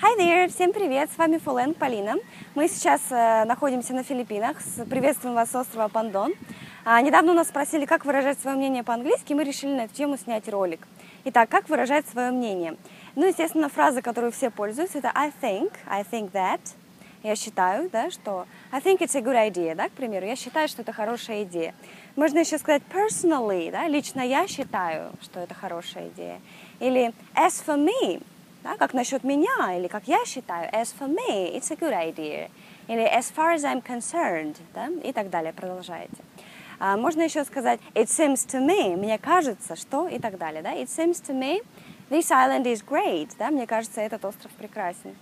Hi there! Всем привет! С вами Фулен Полина. Мы сейчас находимся на Филиппинах. Приветствуем вас с острова Пандон. Недавно у нас спросили, как выражать свое мнение по-английски, и мы решили на эту тему снять ролик. Итак, как выражать свое мнение? Ну, естественно, фраза, которую все пользуются, это I think that. Я считаю, да, что I think it's a good idea, да, к примеру. Я считаю, что это хорошая идея. Можно еще сказать personally, да, лично я считаю, что это хорошая идея. Или as for me, да, как насчет меня, или как я считаю, as for me, it's a good idea. Или as far as I'm concerned, да, и так далее, продолжаете. Можно еще сказать it seems to me, мне кажется, что, и так далее, да. It seems to me, this island is great, да, мне кажется, этот остров прекрасен.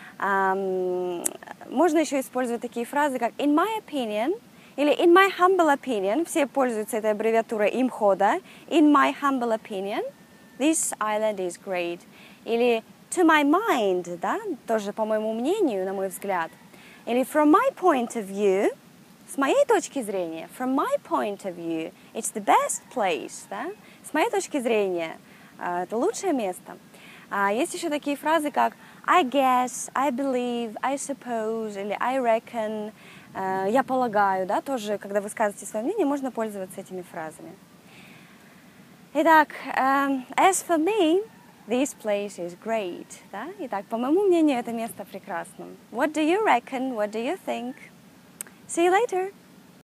Можно еще использовать такие фразы, как in my opinion, или in my humble opinion, все пользуются этой аббревиатурой имхода, in my humble opinion, this island is great. Или to my mind, да, тоже по моему мнению, на мой взгляд. Или from my point of view, с моей точки зрения, from my point of view, it's the best place, да, с моей точки зрения, это лучшее место. Есть еще такие фразы, как I guess, I believe, I suppose, или I reckon, я полагаю, да, тоже, когда высказываете свое мнение, можно пользоваться этими фразами. Итак, as for me, this place is great, да? Итак, по моему мнению, это место прекрасно. What do you reckon? What do you think? See you later!